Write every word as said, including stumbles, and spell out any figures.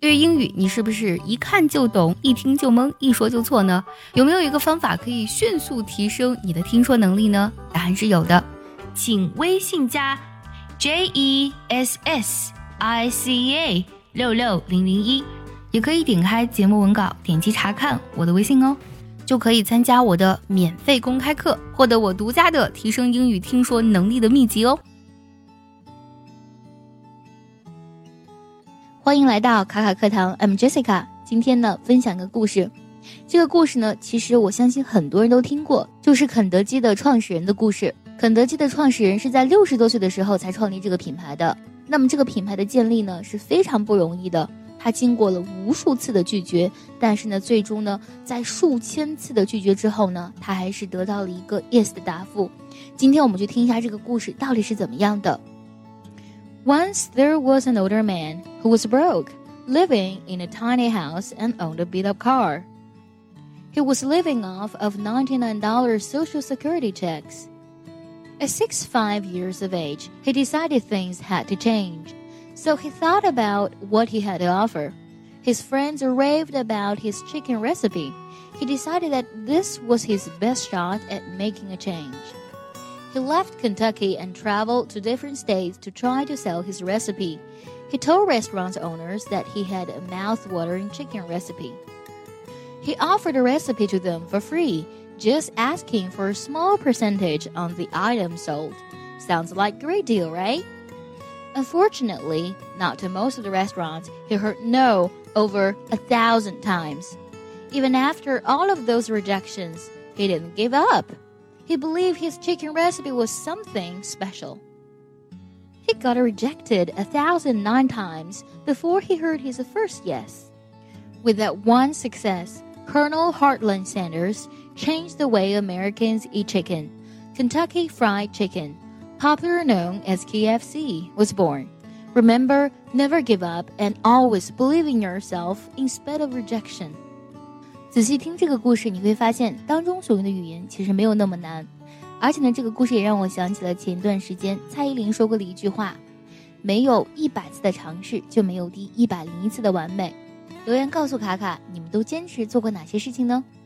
对于英语，你是不是一看就懂，一听就懵，一说就错呢？有没有一个方法可以迅速提升你的听说能力呢？答案是有的，请微信加 J E S S I C A 六六零零一，也可以点开节目文稿，点击查看我的微信哦，就可以参加我的免费公开课，获得我独家的提升英语听说能力的秘籍哦。欢迎来到卡卡课堂 I'm Jessica， 今天呢分享个故事。这个故事呢其实我相信很多人都听过，就是肯德基的创始人的故事。肯德基的创始人是在六十多岁的时候才创立这个品牌的，那么这个品牌的建立呢是非常不容易的，他经过了无数次的拒绝，但是呢最终呢在数千次的拒绝之后呢，他还是得到了一个 yes 的答复。今天我们就听一下这个故事到底是怎么样的。Once there was an older man who was broke, living in a tiny house and owned a beat-up car. He was living off of ninety-nine dollars Social Security checks. At sixty-five years of age, he decided things had to change, so he thought about what he had to offer. His friends raved about his chicken recipe. He decided that this was his best shot at making a change.He left Kentucky and traveled to different states to try to sell his recipe. He told restaurant owners that he had a mouth-watering chicken recipe. He offered a recipe to them for free, just asking for a small percentage on the item sold. Sounds like a great deal, right? Unfortunately, not to most of the restaurants, he heard no over a thousand times. Even after all of those rejections, he didn't give up.He believed his chicken recipe was something special. He got rejected a thousand nine times before he heard his first yes. With that one success, Colonel Heartland Sanders changed the way Americans eat chicken. Kentucky Fried Chicken, popularly known as K F C, was born. Remember, never give up and always believe in yourself in spite of rejection.仔细听这个故事，你会发现当中所用的语言其实没有那么难，而且呢，这个故事也让我想起了前段时间蔡依林说过的一句话：没有一百次的尝试，就没有第一百零一次的完美。留言告诉卡卡，你们都坚持做过哪些事情呢？